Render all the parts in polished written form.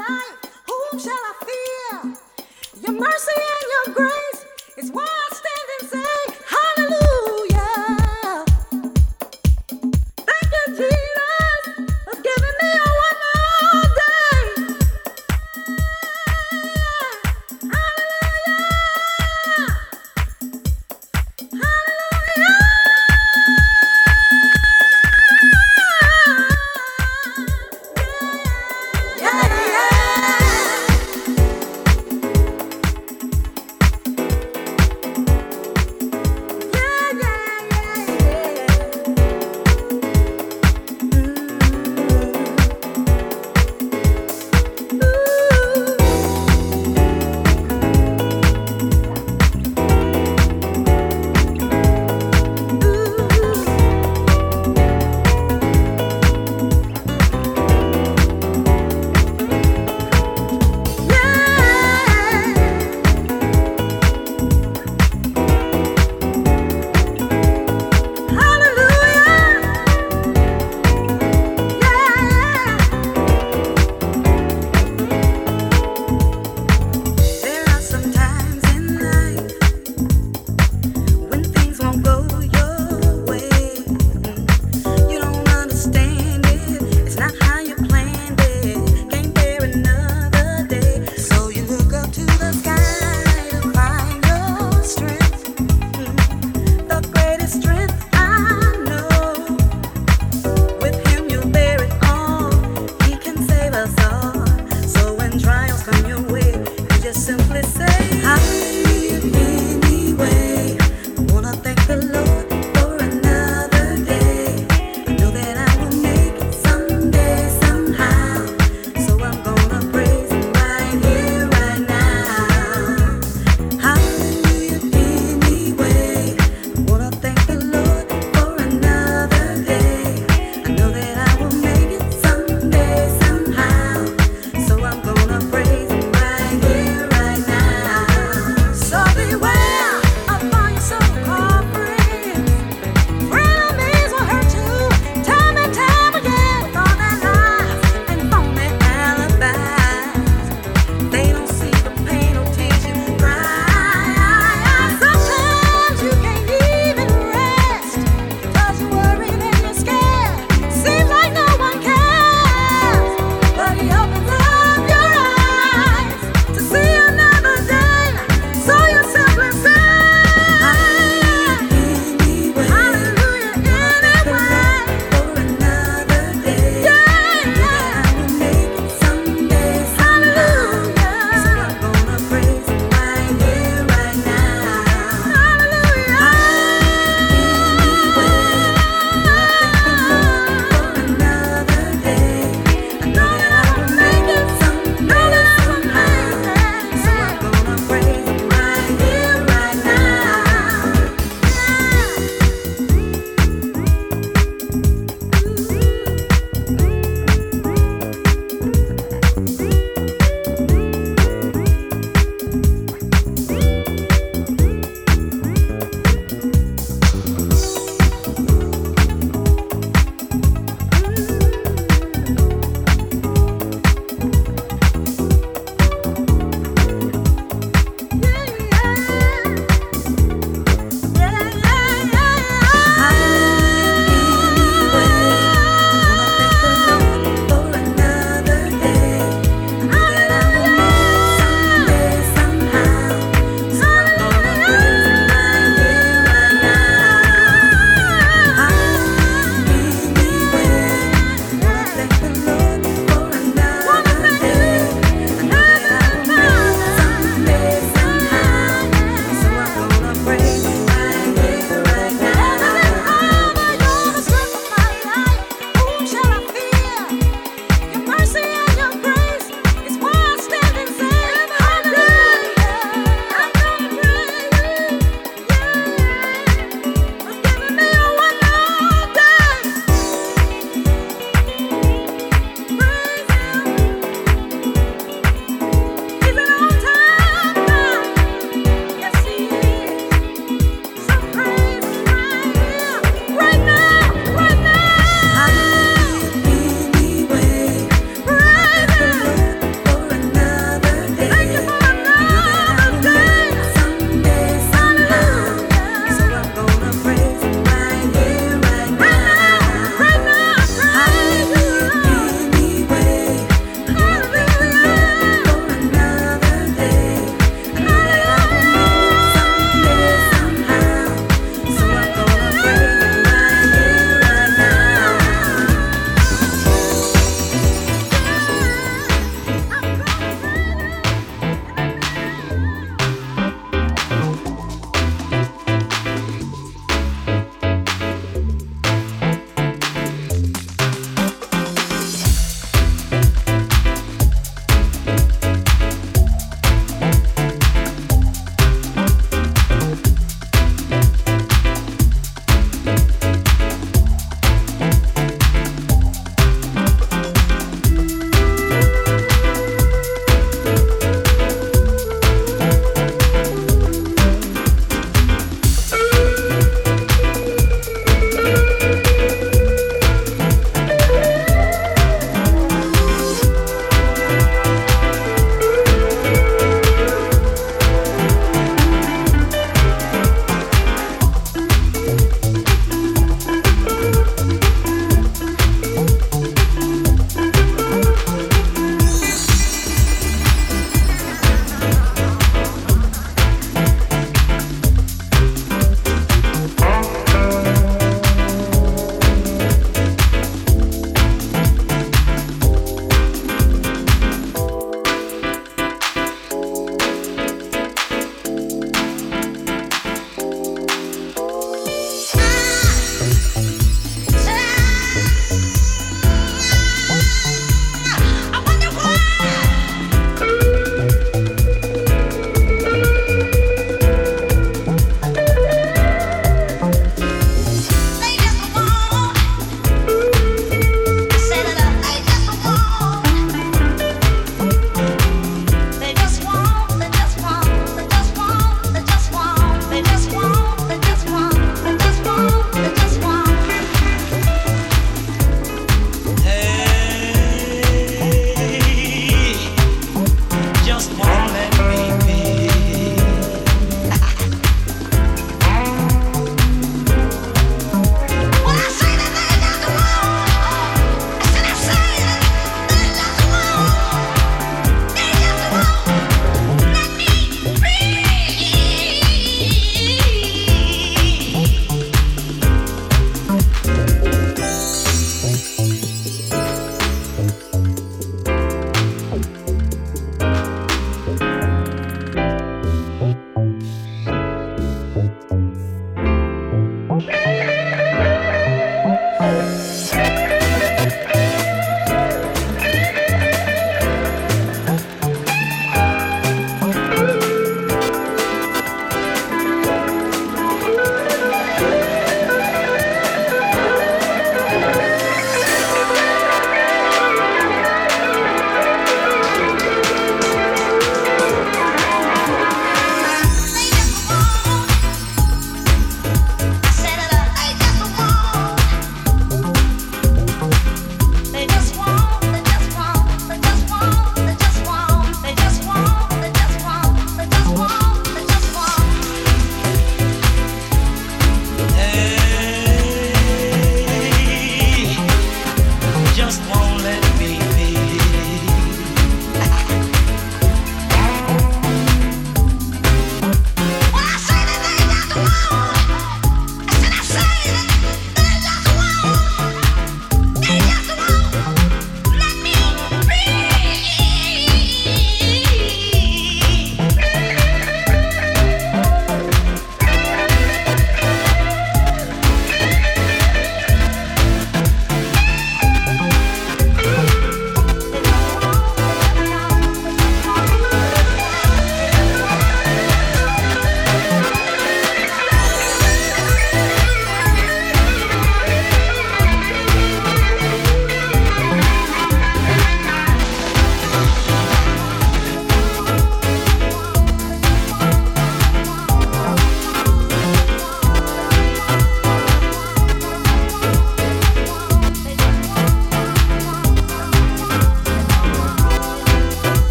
life, whom shall I fear? Your mercy and your grace is why I stand and say, hallelujah. Thank you, Jesus, for giving me a one more day.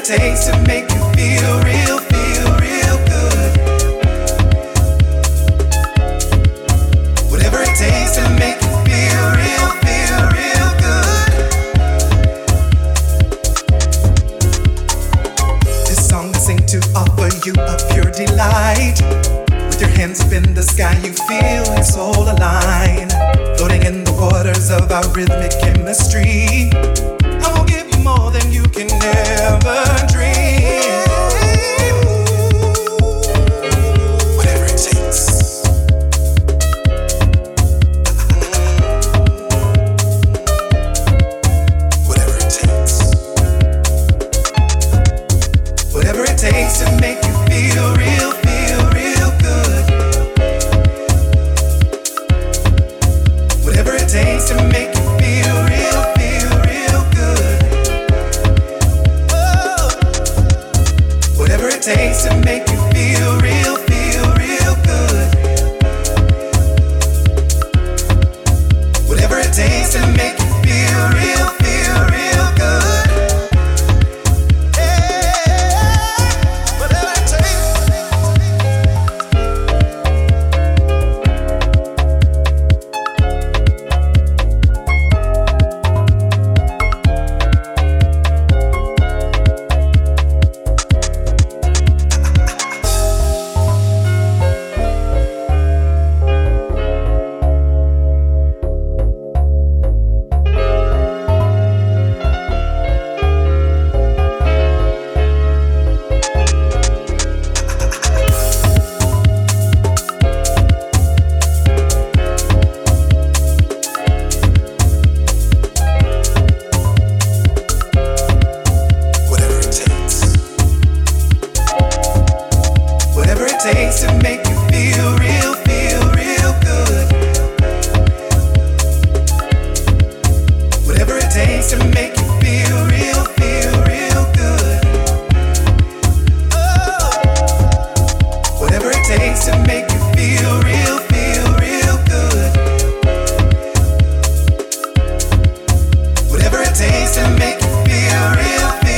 takes to make you feel real good. Whatever it takes to make you feel real good. This song I sing to offer you a pure delight. With your hands up in the sky, you feel your soul align. Floating in the waters of our rhythmic chemistry. I will give you more than you can ever dream. Whatever it takes. Whatever it takes. Whatever it takes to make you feel real good. Whatever it takes to make you feel real good. Oh. Whatever it takes to make you feel real good. Whatever it takes to make you feel real good. Yeah. Whatever it takes. Whatever it takes to make you feel real good. Whatever it takes to make you feel real good. Oh. Whatever it takes to make you feel real good. Whatever it takes to make you feel real good.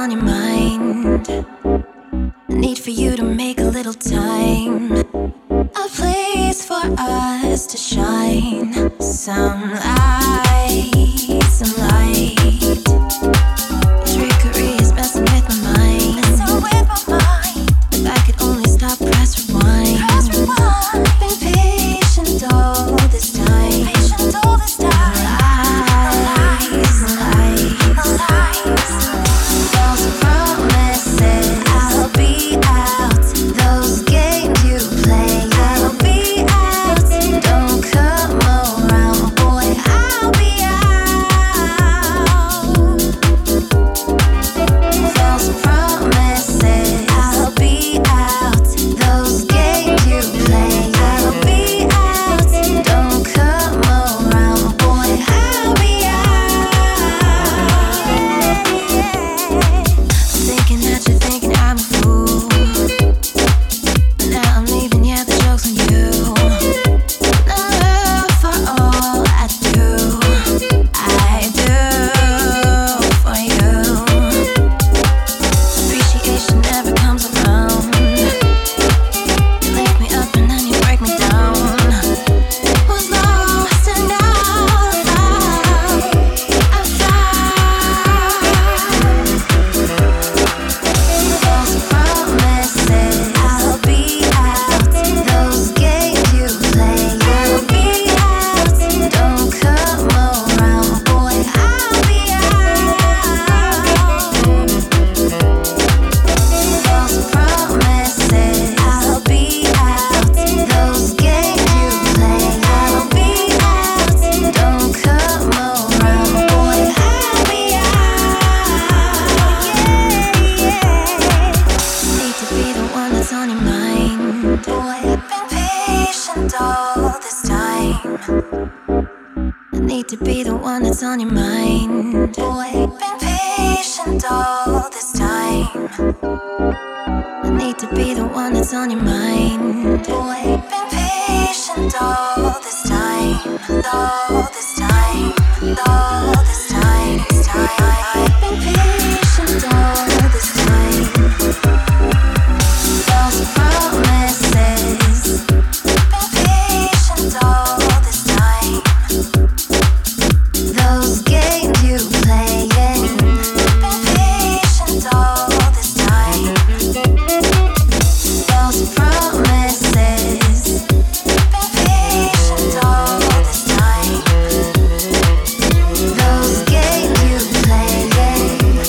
on your mind. The need for you to make a little time. A place for us to shine. Some light, some light. Trickery is messing with my mind. Messing with my mind. If I could only stop, press rewind. Press rewind. Been patient all this time. Patient all this time. Lies, lies, lies. False promises. I'll be out. Those games you play. I'll be out. Don't come around, boy. I'll be out. False promises. I'll be out. Those games you play. I'll be out. Don't come around, boy. I'll be out. I'm thinking that you're thinking I'm a fool. But now I'm leaving, yeah, the joke's on you. Love for all I do for you. Appreciation never comes around. You lift me up and then you break me down. Was lost and now I found. False promises. I'll be out. Those games you play. I'll be out. Don't come around, boy. I'll be out. False promises. I'll be out. Those games you play. I'll be out. Don't come around, boy. I'll be out. Need to be the one that's on your mind. Boy, I've been patient all this time. I need to be the one that's on your mind. Boy, I've been patient all this time. I need to be the one that's on your mind. Boy, I've been patient all this time. All this time. All this time. I've been patient all this time. False promises. Been patient all this time. Those games you playing. Been patient all this time. False promises. Been patient all this time. Those games you playing.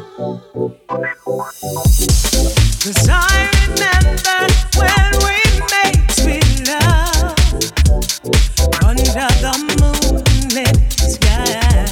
'Cause I remember when we made sweet love under the moonlit sky.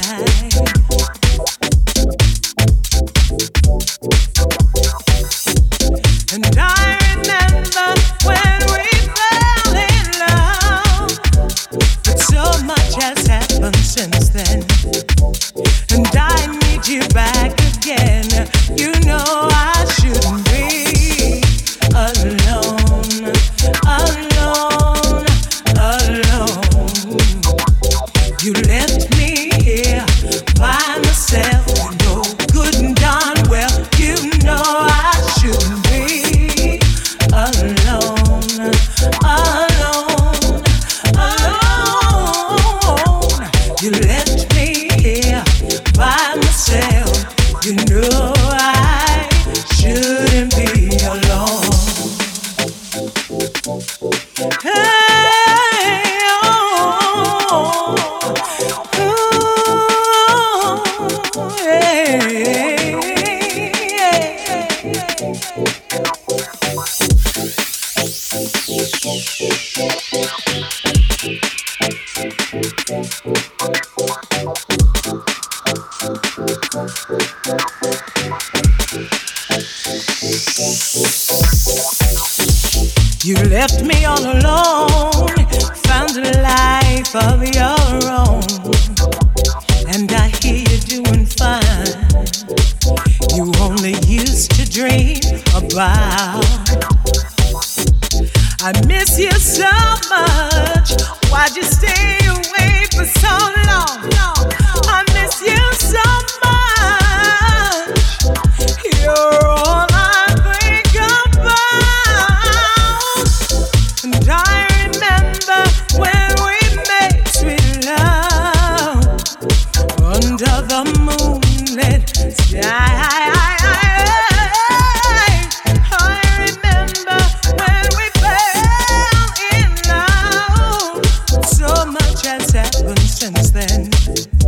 And I remember when we fell in love, but so much has happened since then, and I need you back again. You know I shouldn't be alone, alone, alone. You left me here by myself, you know good and darn well. You know I shouldn't be alone, alone, alone. You left me here by myself. You know I shouldn't be alone. Hey, oh, ooh, hey, you left me all alone, found a life of your own, and I hear you doing fine. You only used to dream about. I miss you so much. Why'd you stay away for so long? I miss you so much. You're all I think about. And I remember when we made sweet love under the moonlit sky. I remember when we fell in love. So much has happened since then.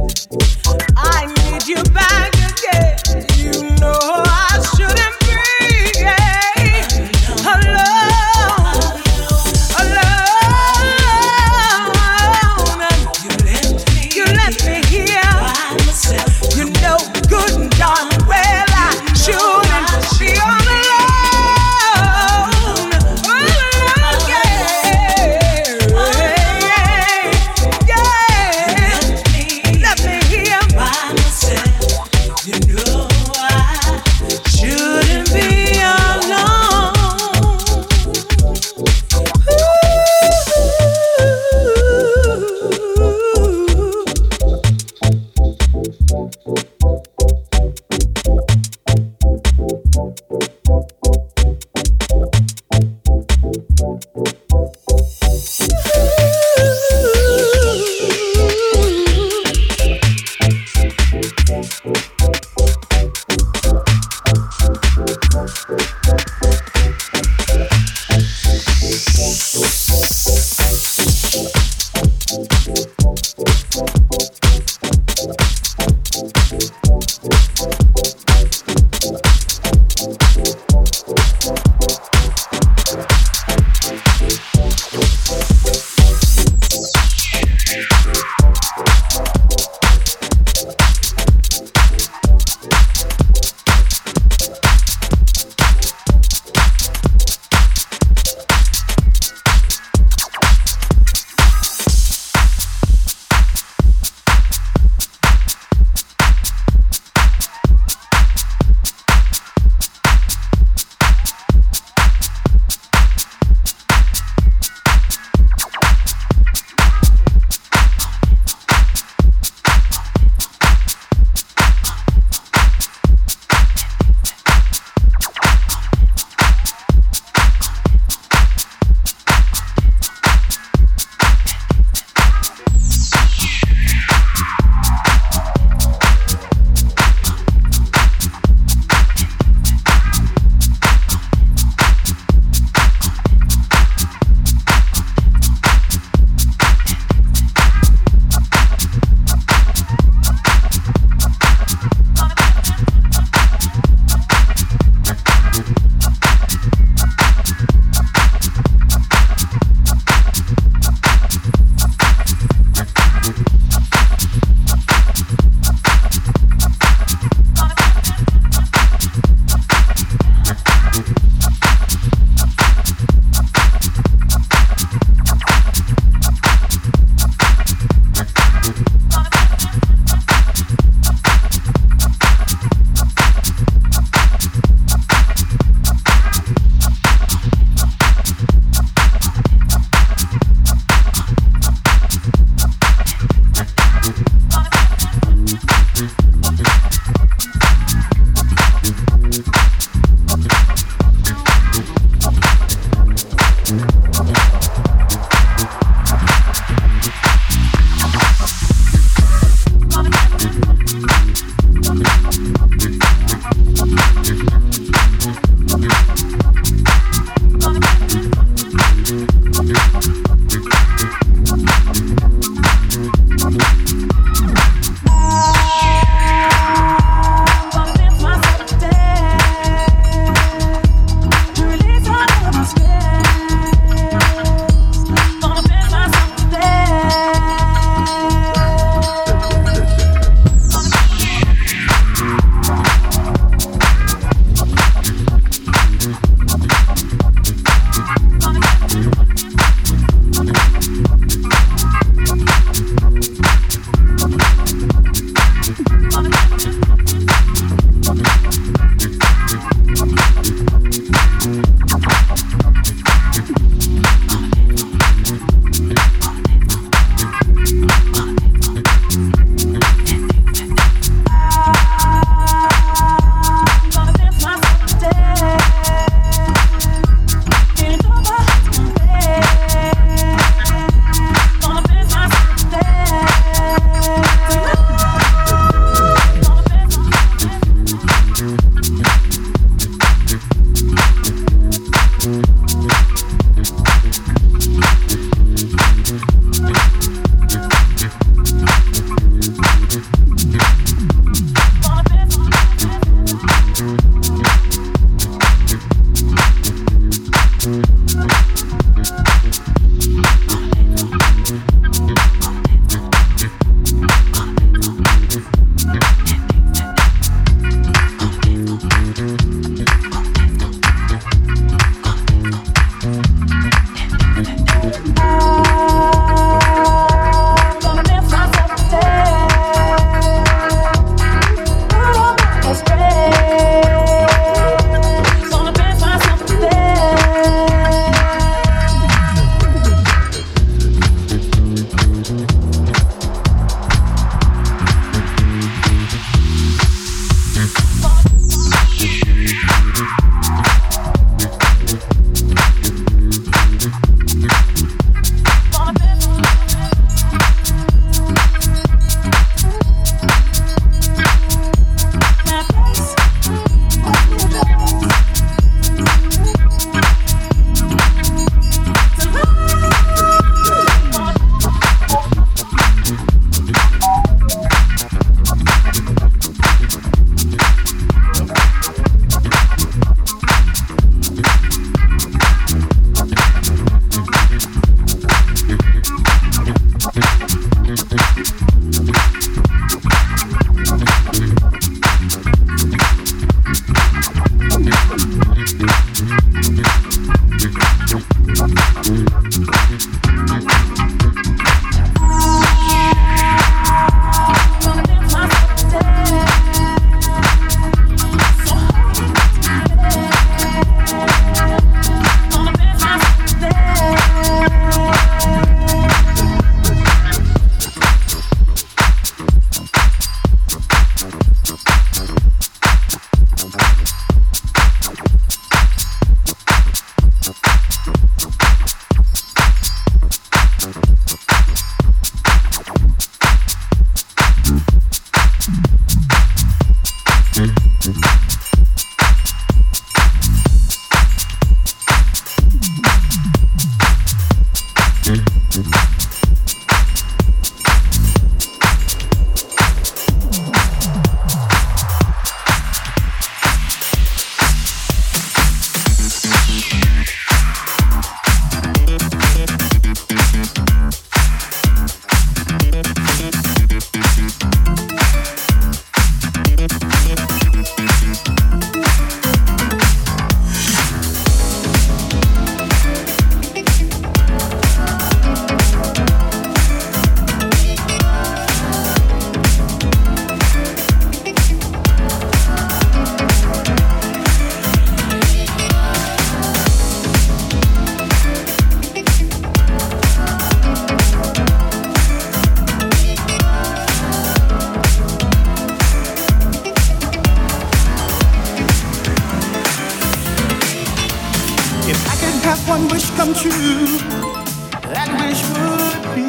have one wish come true. That wish would be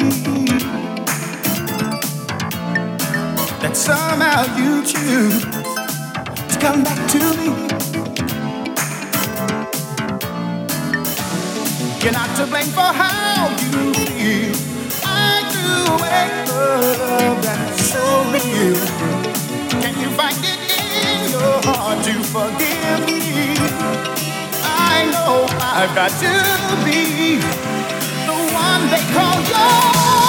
that somehow you choose to come back to me. You're not to blame for how you feel. I do make love that's so real. Can you find it in your heart to forgive me? I know I've got to be the one they call yours.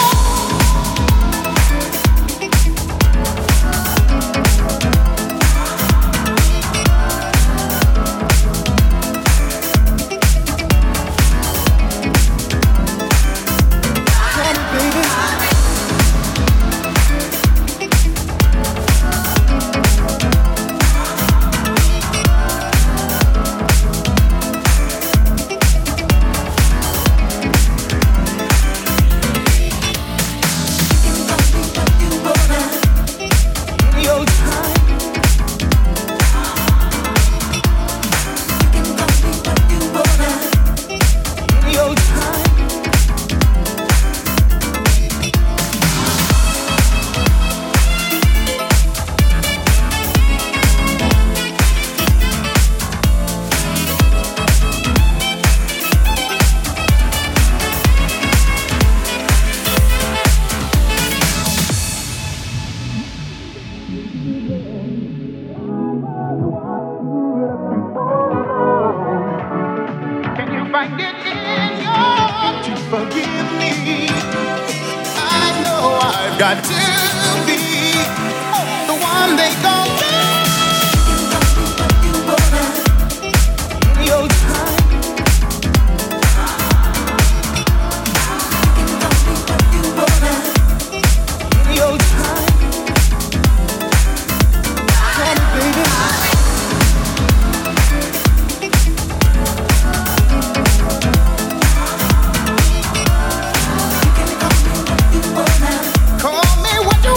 Call me what you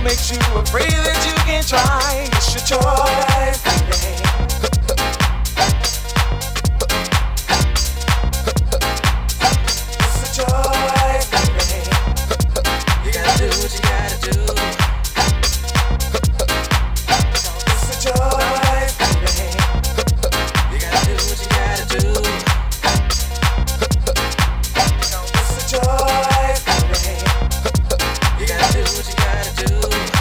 makes you afraid that you can't try? It's your choice, baby. It's your choice, baby. You gotta do what you gotta do. It's your choice, baby. You gotta do what you gotta do. It's your choice, baby. You gotta do what you gotta do.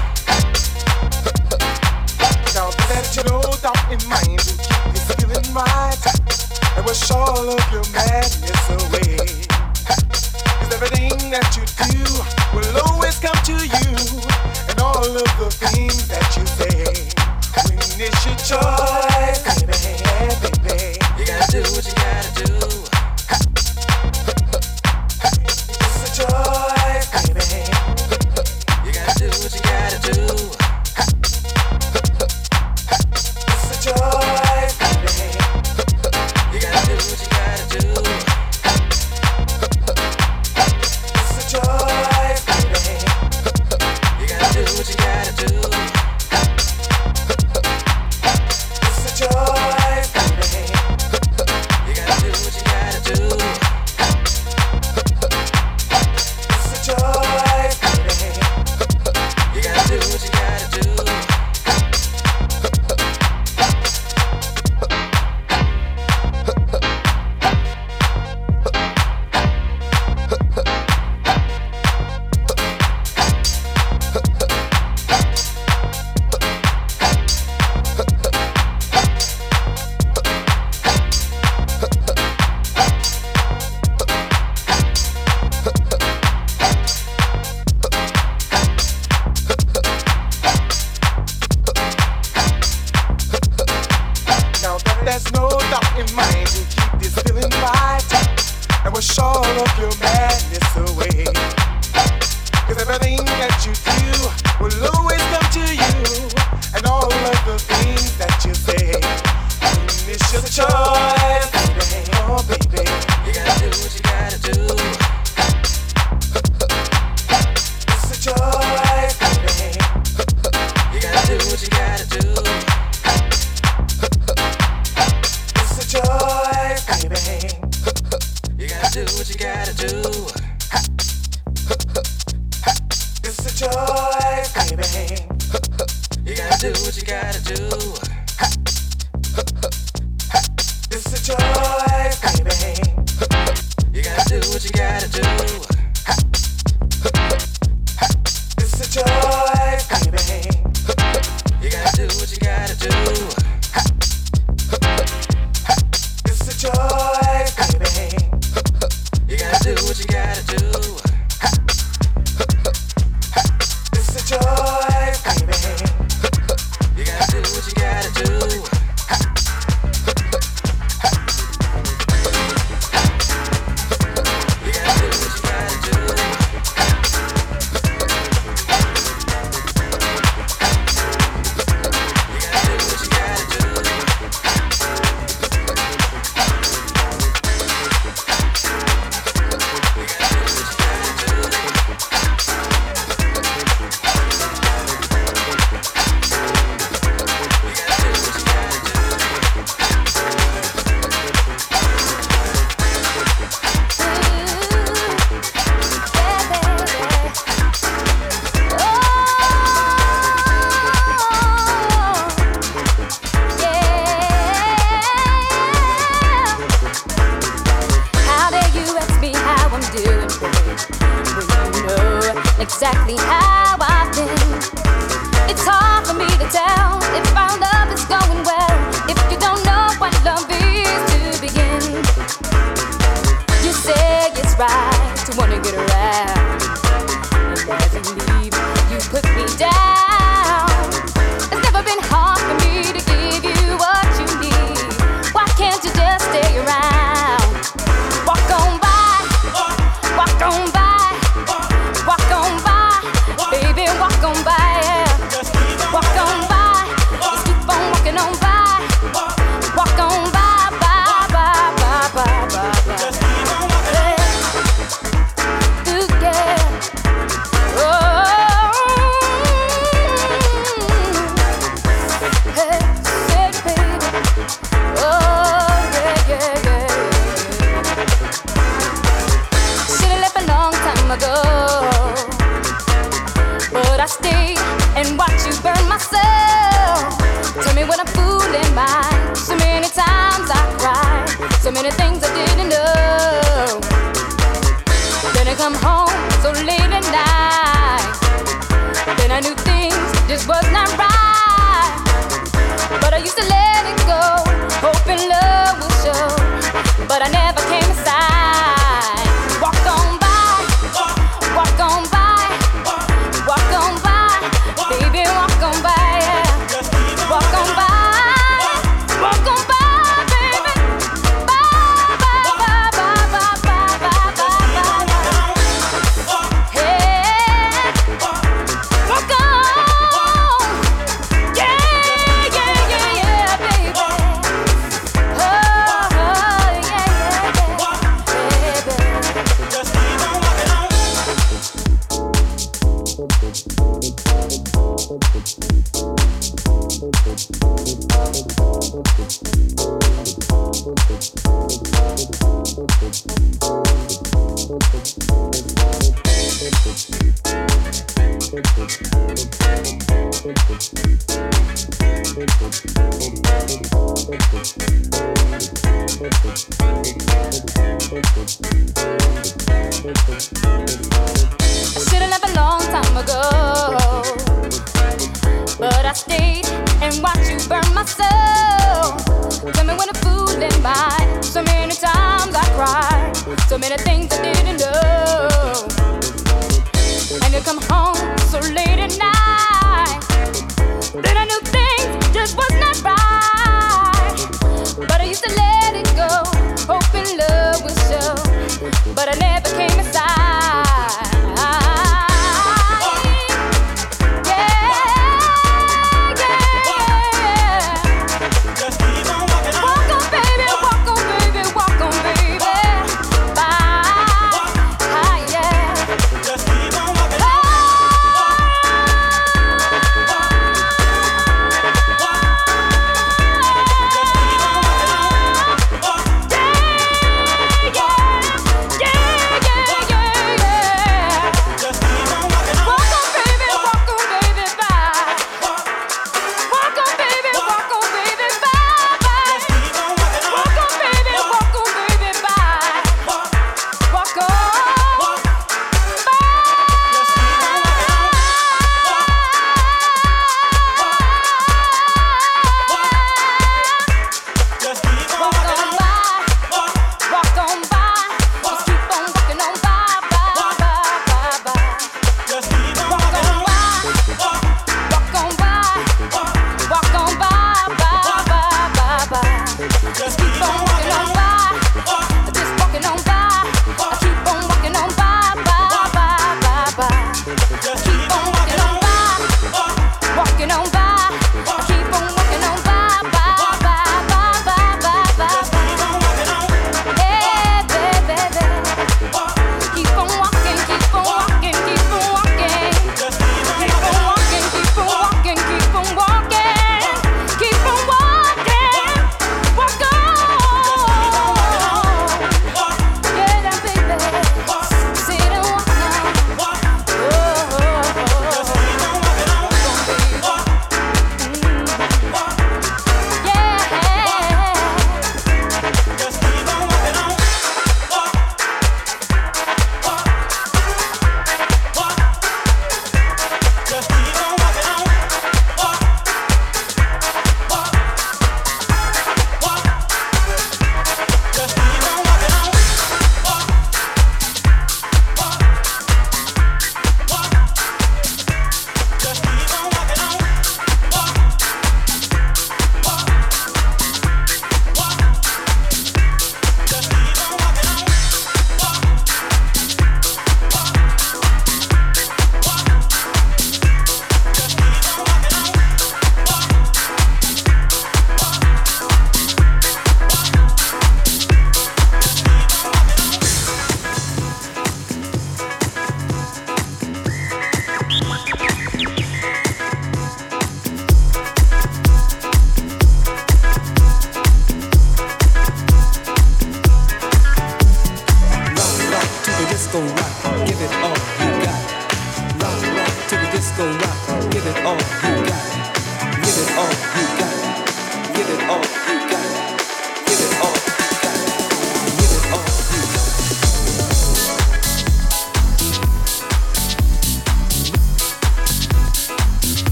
Now that you know thought in mind to keep this feeling right, and wash all of your madness away. 'Cause everything that you do will always come to you, and all of the things that you say. When it's your choice, baby, baby, you gotta do what you gotta do. It's a choice, baby. You gotta do what you gotta do. It's a choice, baby. You gotta do what you gotta do. It's a choice, baby. You gotta do what you gotta do. It's a choice, baby. You gotta do what you gotta do. It's a choice, baby. You gotta do what you gotta do. Now that there's no doubt in mind to keep this feeling right, and wash all of your madness away. 'Cause everything that you do will always come to you, and all of the things that you say. It's your choice, baby. Oh, baby. You gotta do what you gotta do. It's a choice, baby. You gotta do what you gotta do. It's a choice, baby. You gotta do what you gotta do. It's a choice, baby. You gotta do what you gotta do. It's a choice, baby. You gotta do what you gotta do. It's a choice, baby. You gotta do what you gotta do. It's a choice, baby. You gotta do what you gotta do. It's a choice, baby. You gotta do what you gotta do. You gotta do what you gotta do. You gotta do what you gotta do. Exactly how I've been. It's hard for me to tell if our love is going well, if you don't know what love is to begin. You say it's right to wanna get around, and as you leave, you put me down. It's never been hard for me to give you what you need. Why can't you just stay around? Walk on by, walk on by. Walk on by, baby, walk on by, yeah. Walk on by, just keep on walking on by. I stayed and watched you burn my soul. Tell me what I'm fooling by. So many times I cried, so many things I didn't know. Then I come home so late at night. Then I knew things just was not right. But I used to let it go, hoping love would show. But I never came aside. Walked on by, walk on by, walk on by, baby, walk on by, yeah. Walk on by, walk on by, baby. Bye, bye, bye, bye, bye, bye, bye, bye, bye. Hey, walk on, yeah, yeah, yeah, yeah, baby. Oh, yeah, yeah, yeah, baby. Just keep on walking on. Should've left a long time ago, but I stayed and watched you burn my soul. Tell me when I'm fooling by. So many times I cried, so many things I didn't know. And you come home so late at night. Then I knew things just was not right. But I used to let it go, hoping love would show. But I never came aside. Just keep on walking on. Walk on, baby, walk on, baby, walk on, baby. Bye, hi, yeah. Just keep on walking on.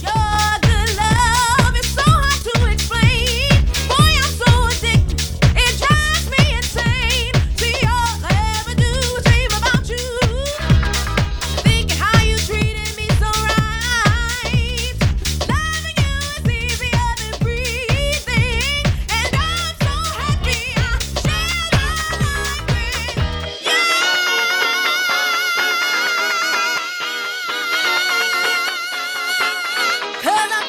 Cause I'm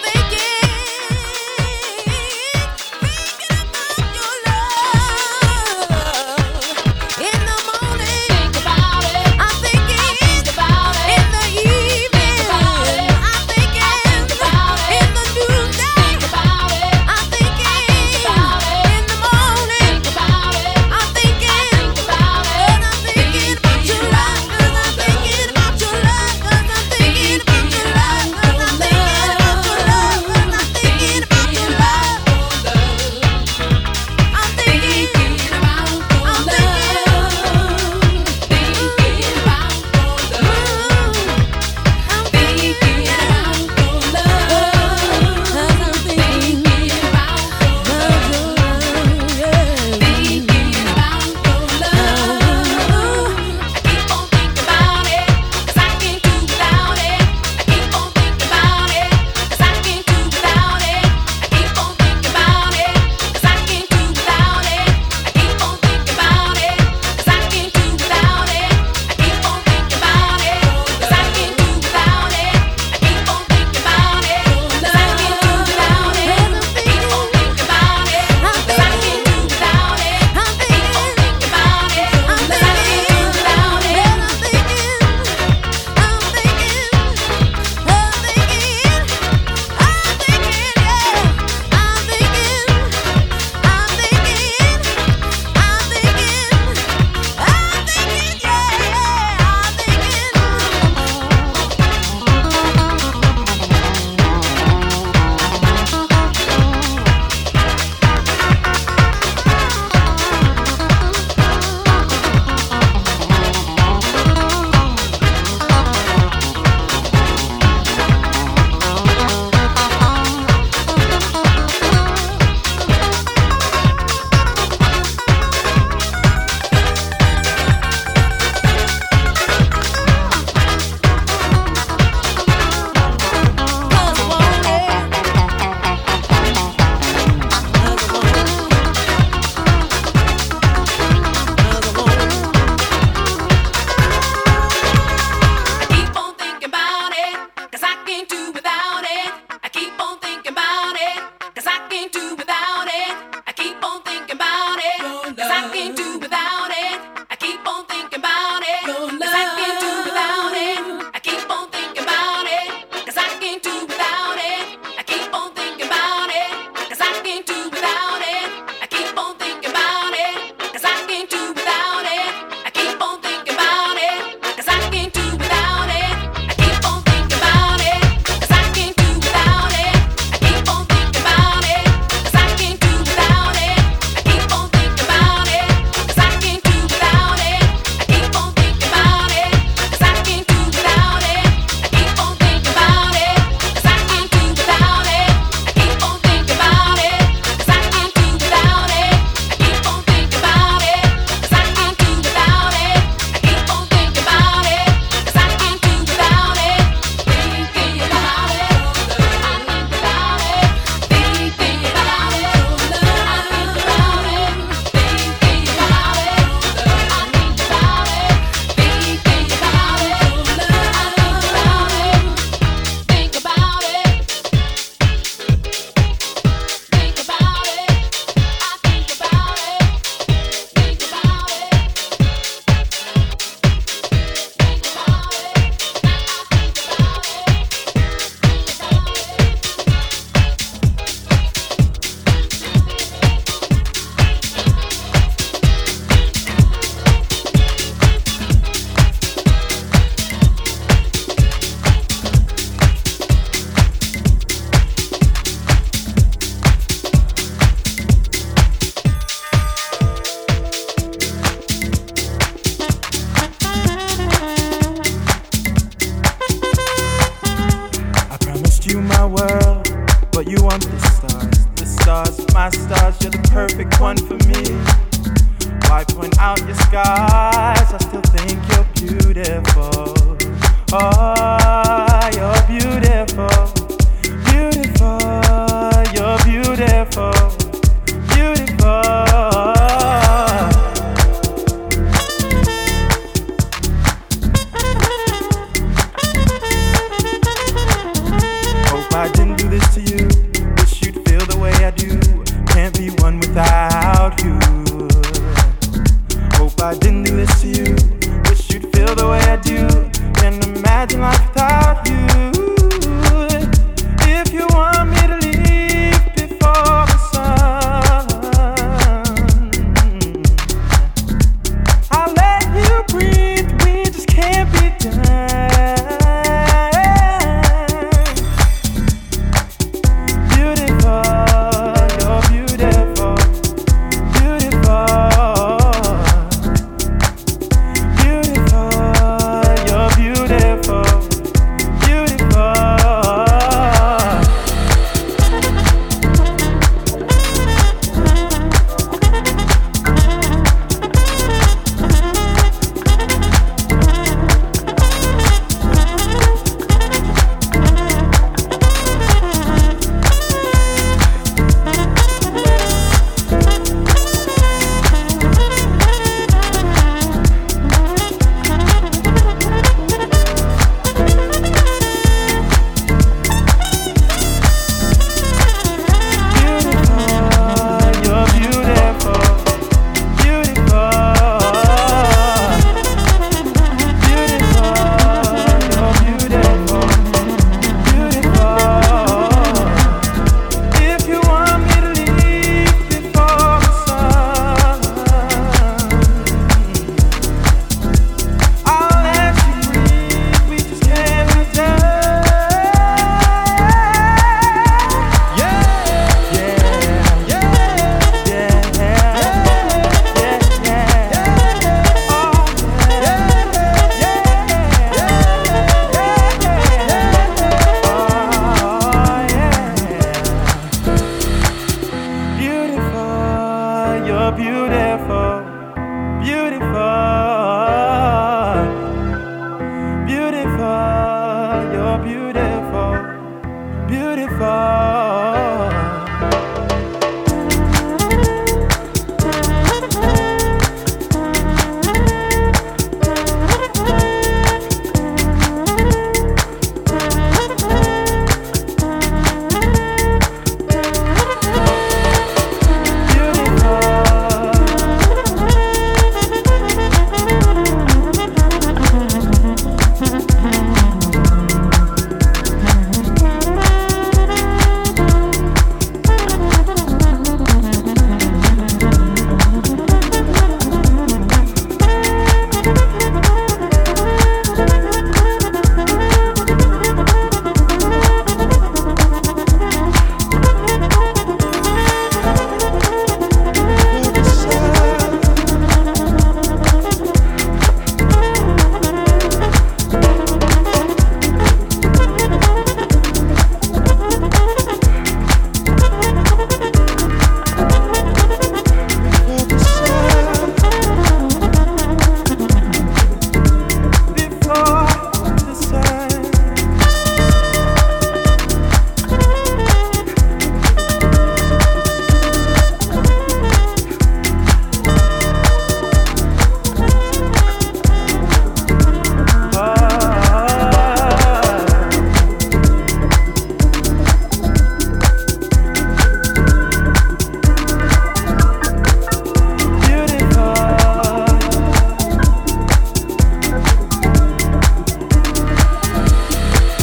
my world, but you want the stars, my stars, you're the perfect one for me. Why point out your skies? I still think you're beautiful. Oh, you're beautiful, beautiful, you're beautiful, beautiful. I didn't do this to you. Wish you'd feel the way I do. Can't be one without you. Hope I didn't do this to you. Wish you'd feel the way I do. Can't imagine life without you. If you want me to leave before the sun, I'll let you breathe. We just can't be done.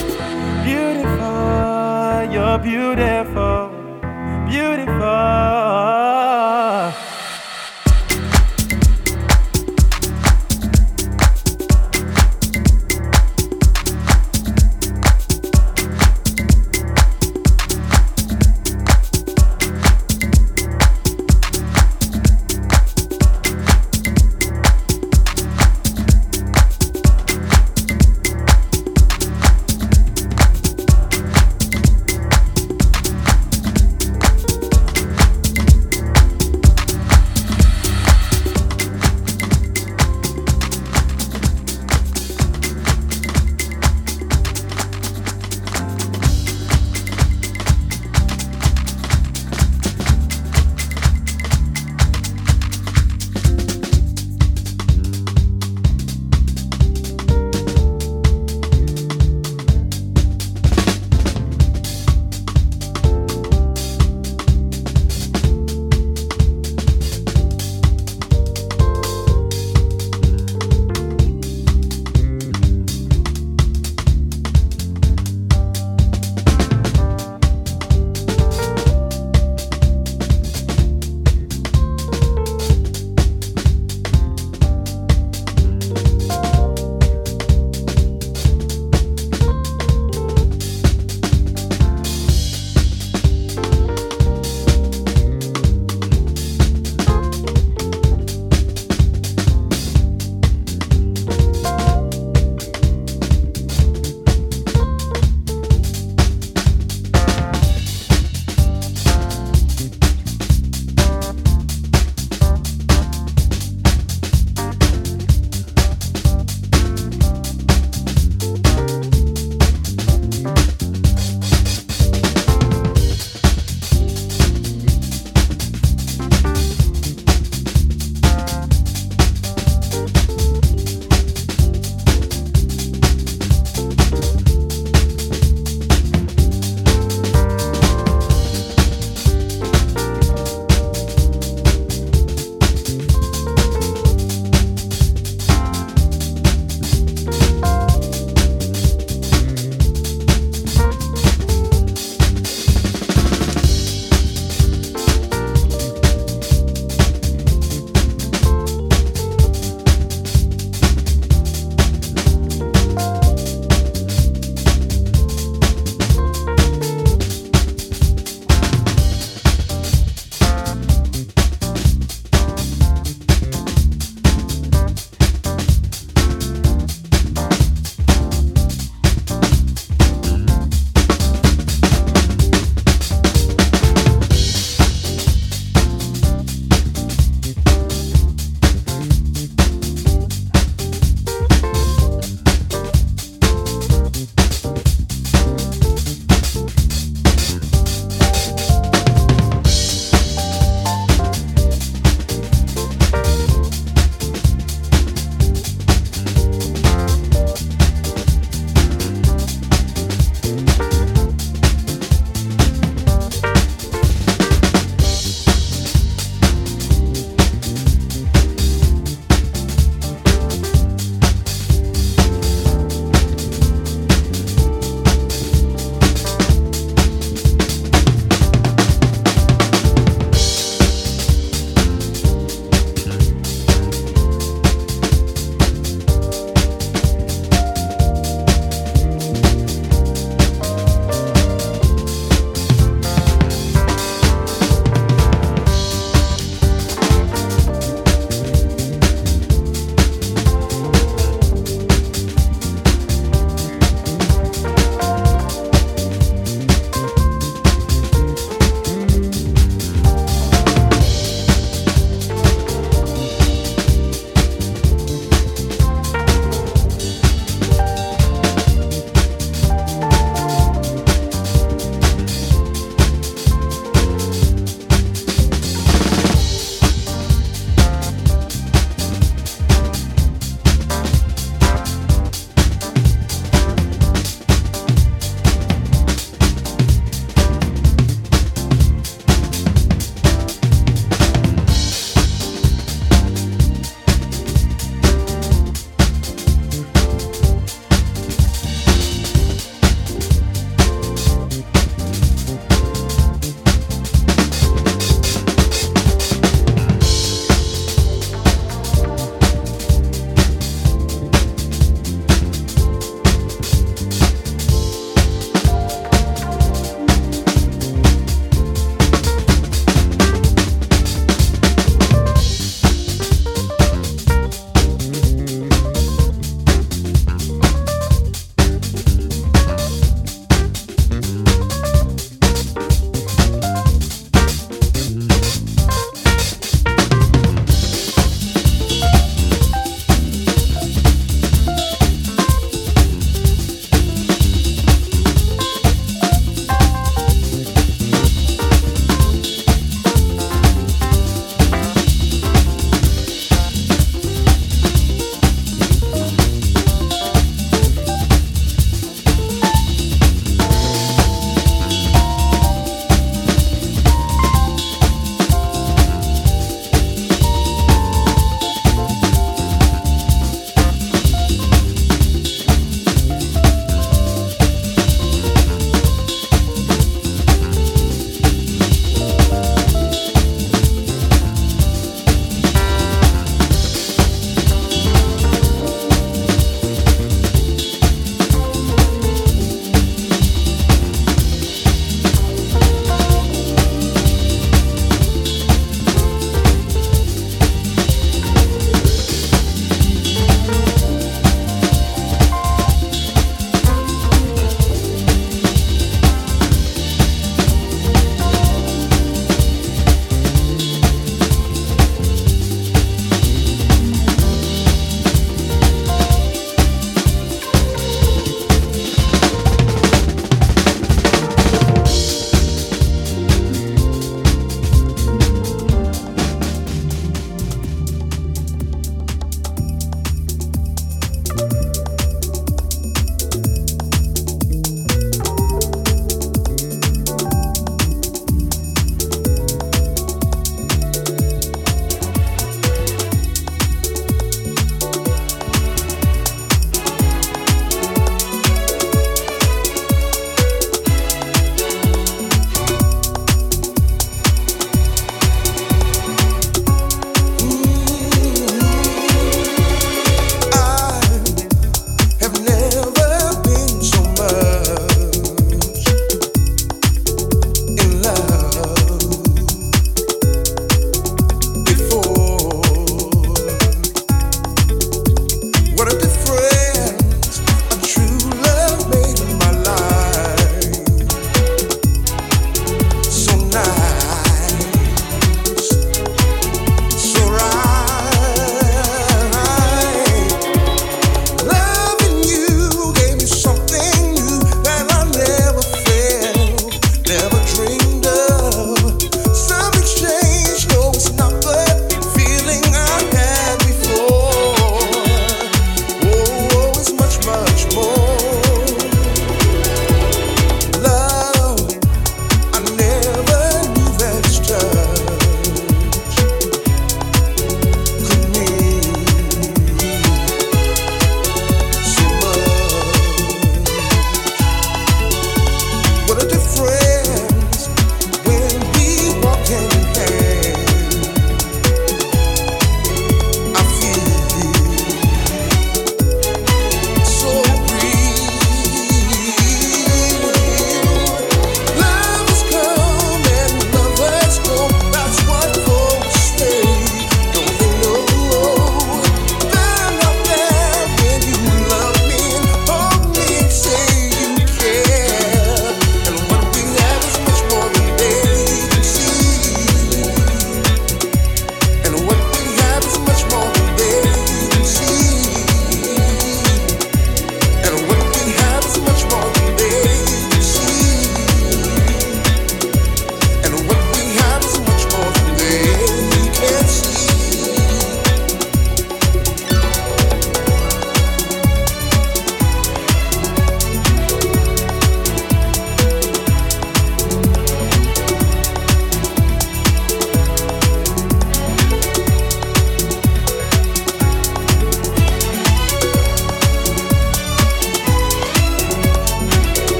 You're beautiful, beautiful.